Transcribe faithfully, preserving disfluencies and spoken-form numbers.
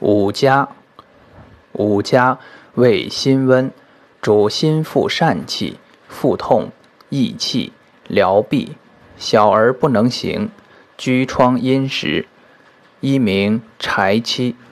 五加，五加味辛温，主心腹疝气、腹痛、益气、疗痹，小儿不能行，居疮阴实，一名柴妻。